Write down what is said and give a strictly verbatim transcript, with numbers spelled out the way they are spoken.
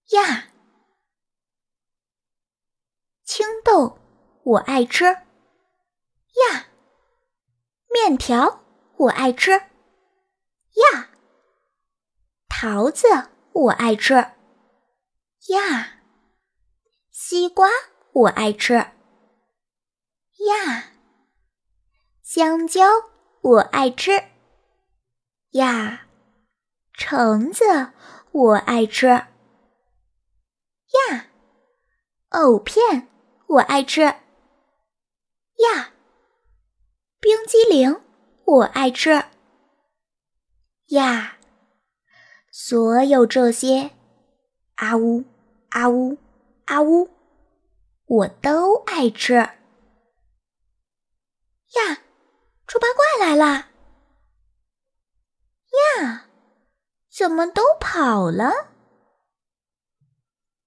呀，青豆我爱吃。呀，面条我爱吃。呀，桃子我爱吃。呀，西瓜我爱吃。呀，香蕉我爱吃。呀，橙子我爱吃。呀，藕片我爱吃。呀，冰激凌我爱吃。呀，所有这些，啊呜啊呜啊呜，我都爱吃。呀，猪八怪来啦！呀，怎么都跑了？